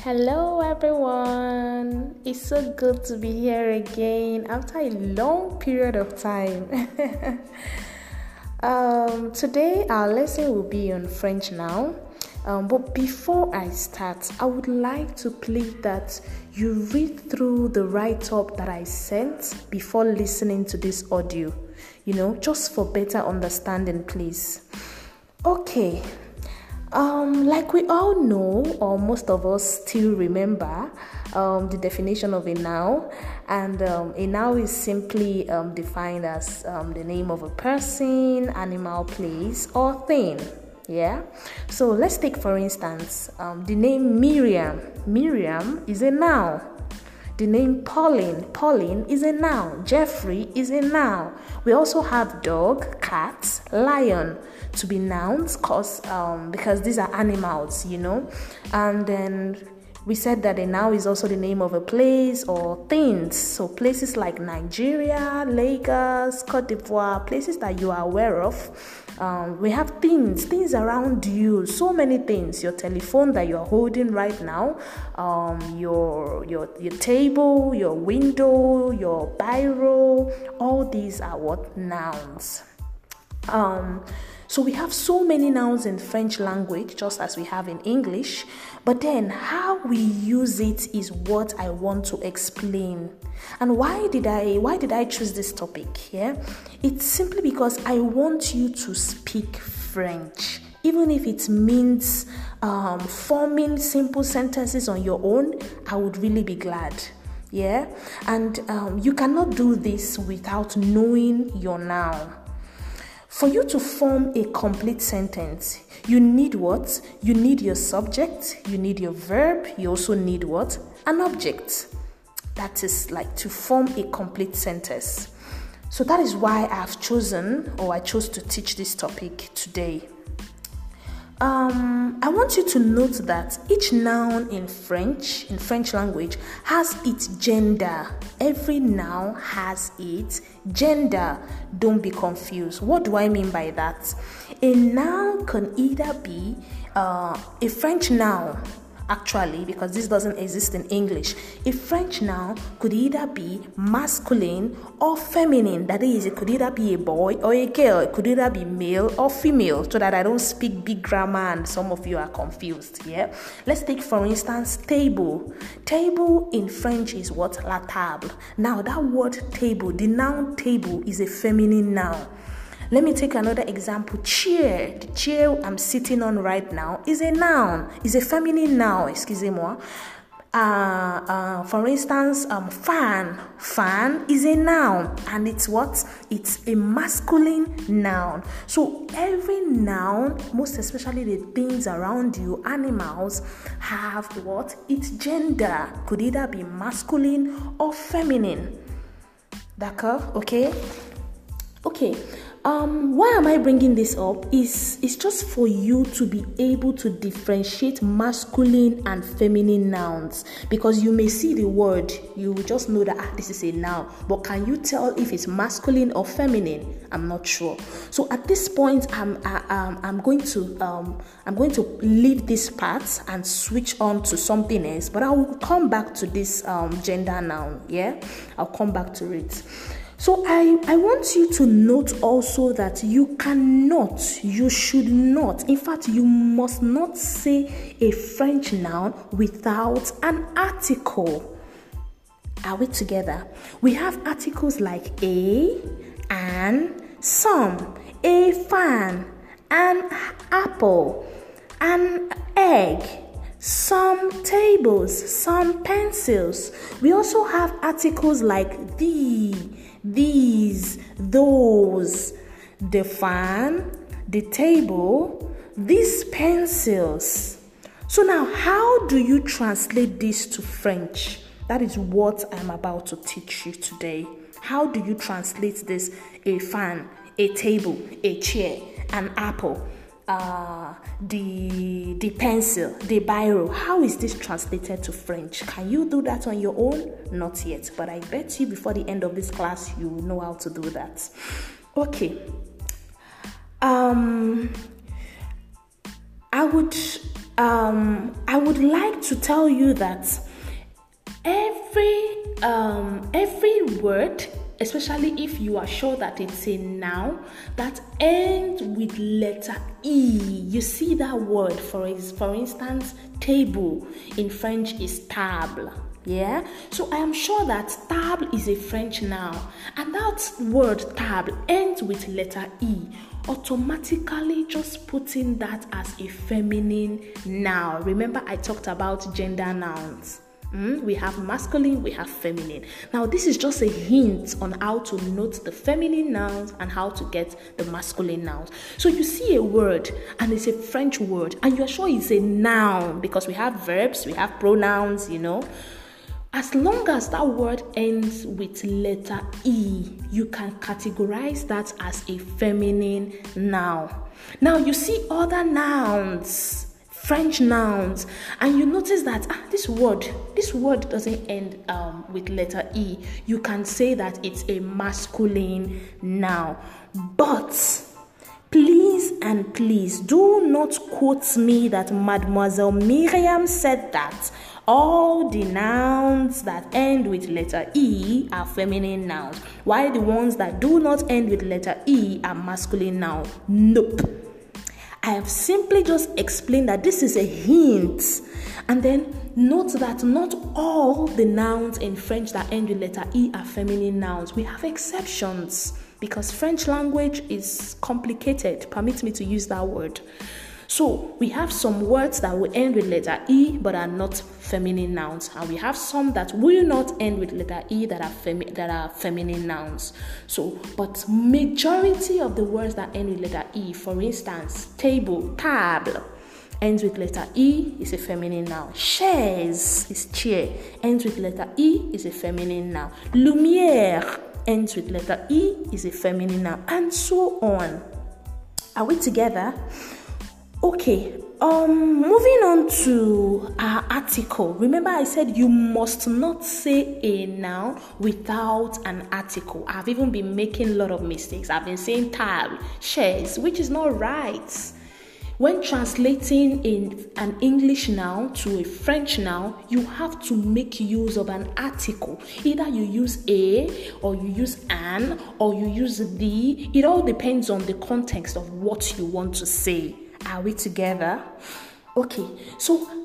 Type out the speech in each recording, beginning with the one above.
Hello everyone. It's so good to be here again after a long period of time. Today our lesson will be on French now. But before I start, I would like to plead that you read through the write-up that I sent before listening to this audio. Just for better understanding, please. Okay. Like we all know, or most of us still remember, the definition of a noun, and a noun is simply defined as the name of a person, animal, place, or thing. Yeah. So let's take, for instance, the name Miriam. Miriam is a noun. The name Pauline is a noun. Jeffrey is a noun. We also have dog, cat, lion to be nouns because these are animals, And then we said that a noun is also the name of a place or things. So places like Nigeria, Lagos, Cote d'Ivoire, places that you are aware of. We have things around you, so many things. Your telephone that you're holding right now, your table, your window, your biro, all these are what? Nouns. So we have so many nouns in French language, just as we have in English. But then how we use it is what I want to explain. And why did I choose this topic? Yeah, it's simply because I want you to speak French. Even if it means forming simple sentences on your own, I would really be glad. Yeah, and you cannot do this without knowing your noun. For you to form a complete sentence, you need what? You need your subject, you need your verb, you also need what? An object. That is like to form a complete sentence. So that is why I chose to teach this topic today. I want you to note that each noun in French language, has its gender. Every noun has its gender. Don't be confused. What do I mean by that? A noun can either be a French noun, actually, because this doesn't exist in English. A French noun could either be masculine or feminine. That is, it could either be a boy or a girl. It could either be male or female, so that I don't speak big grammar and some of you are confused. Yeah. Let's take, for instance, table. Table in French is what? La table. Now, that word table, the noun table, is a feminine noun. Let me take another example. Chair. The chair I'm sitting on right now is a noun. Is a feminine noun. Excusez-moi. For instance, fan. Fan is a noun, and it's what? It's a masculine noun. So every noun, most especially the things around you, animals, have what? Its gender. Could either be masculine or feminine. D'accord? Okay. Why am I bringing this up? It's just for you to be able to differentiate masculine and feminine nouns, because you may see the word, you just know that this is a noun, but can you tell if it's masculine or feminine? I'm not sure. So at this point, I'm going to leave this part and switch on to something else, but I will come back to this gender noun. Yeah, I'll come back to it. So I want you to note also that you should not, in fact, you must not say a French noun without an article. Are we together? We have articles like a, an, some, a fan, an apple, an egg, some tables, some pencils. We also have articles like these, those, the fan, the table, these pencils. So now, how do you translate this to French? That is what I'm about to teach you today. How do you translate this? A fan, a table, a chair, an apple, the pencil, the biro. How is this translated to French? Can you do that on your own? Not yet, but I bet you before the end of this class you will know how to do that. Okay. I would I would like to tell you that every word, especially if you are sure that it's a noun that ends with letter E. You see that word, for instance, table in French is table. Yeah, so I am sure that table is a French noun, and that word table ends with letter E. Automatically just putting that as a feminine noun. Remember, I talked about gender nouns. We have masculine, we have feminine. Now, this is just a hint on how to note the feminine nouns and how to get the masculine nouns. So you see a word and it's a French word and you're sure it's a noun because we have verbs, we have pronouns, As long as that word ends with letter E, you can categorize that as a feminine noun. Now, you see other nouns, French nouns, and you notice that this word doesn't end with letter E. You can say that it's a masculine noun. But please do not quote me that Mademoiselle Miriam said that all the nouns that end with letter E are feminine nouns, while the ones that do not end with letter E are masculine nouns. Nope. I have simply just explained that this is a hint. And then note that not all the nouns in French that end with letter E are feminine nouns. We have exceptions because French language is complicated. Permit me to use that word. So we have some words that will end with letter E but are not feminine nouns, and we have some that will not end with letter E that are feminine nouns. So, but majority of the words that end with letter E, for instance, table, table, ends with letter E, is a feminine noun. Chaise is chair, ends with letter E, is a feminine noun. Lumière ends with letter E, is a feminine noun, and so on. Are we together? Okay, moving on to our article. Remember I said you must not say a noun without an article. I've even been making a lot of mistakes. I've been saying table, chaise, which is not right. When translating in an English noun to a French noun, you have to make use of an article. Either you use a, or you use an, or you use the. It all depends on the context of what you want to say. Are we together? Okay, so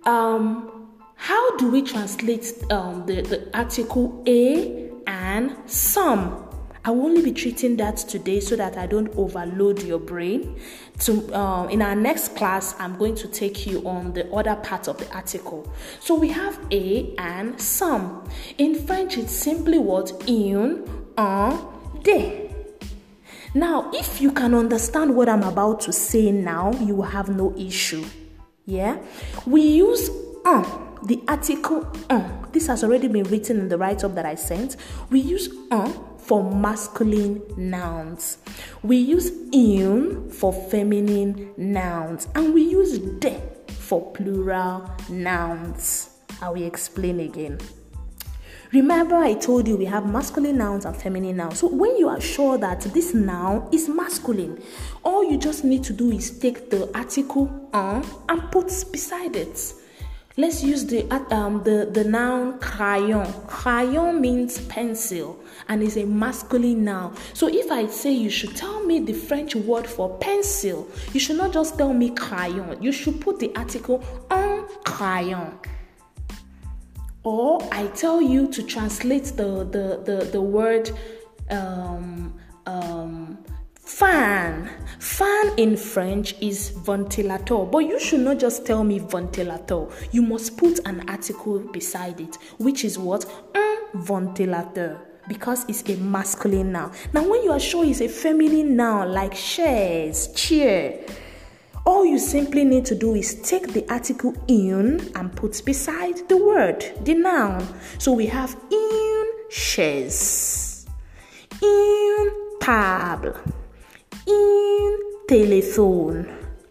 how do we translate the article a and some? I will only be treating that today so that I don't overload your brain. In our next class, I'm going to take you on the other part of the article. So we have a and some. In French, it's simply what? Un, des. Now, if you can understand what I'm about to say now, you will have no issue. Yeah? We use the article This has already been written in the write-up that I sent. We use for masculine nouns. We use un for feminine nouns. And we use de for plural nouns. I will explain again. Remember, I told you we have masculine nouns and feminine nouns. So when you are sure that this noun is masculine, all you just need to do is take the article and put beside it. Let's use the noun crayon. Crayon means pencil and is a masculine noun. So if I say you should tell me the French word for pencil, you should not just tell me crayon. You should put the article un crayon. Or I tell you to translate the word fan. Fan in French is ventilateur, but you should not just tell me ventilateur. You must put an article beside it, which is what? Un ventilateur, because it's a masculine noun. Now, when you are sure it's a feminine noun like chaise, chair, all you simply need to do is take the article un and put beside the word, the noun. So we have une chaise, une table, une téléphone.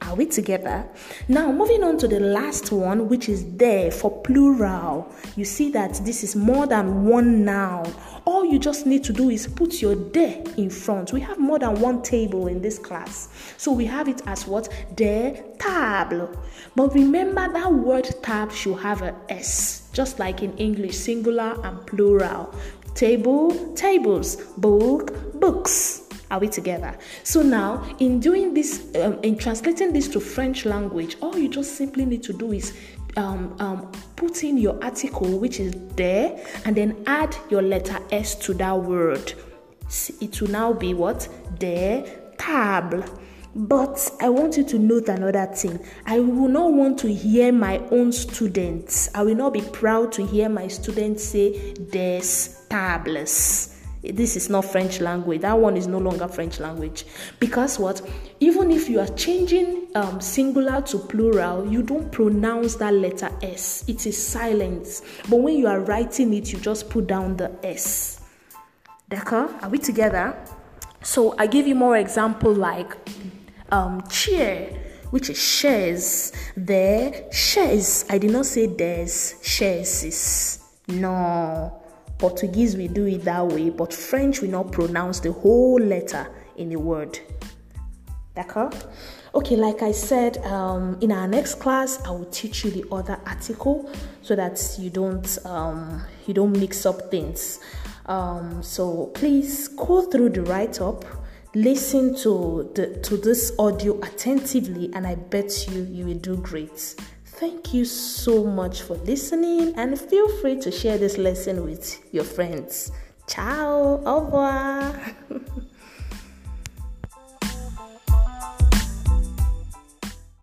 Are we together? Now, moving on to the last one, which is there for plural. You see that this is more than one noun. All you just need to do is put your there in front. We have more than one table in this class. So we have it as what? Des tables. But remember that word tab should have an S, just like in English, singular and plural. Table, tables. Book, books. Are we together? So now, in doing this, in translating this to French language, all you just simply need to do is put in your article, which is there, and then add your letter S to that word. It will now be what? Des tables. But I want you to note another thing. I will not want to hear my own students. I will not be proud to hear my students say des tables. This is not French language. That one is no longer French language. Because what? Even if you are changing singular to plural, you don't pronounce that letter S. It is silent. But when you are writing it, you just put down the S. D'accord? Are we together? So I give you more example like chair, which is shares. There, shares. I did not say there's, shares. No. Portuguese, we do it that way, but French, we not pronounce the whole letter in a word. D'accord? Okay, like I said, in our next class, I will teach you the other article so that you don't mix up things. So please go through the write-up, listen to this audio attentively, and I bet you will do great. Thank you so much for listening, and feel free to share this lesson with your friends. Ciao, au revoir.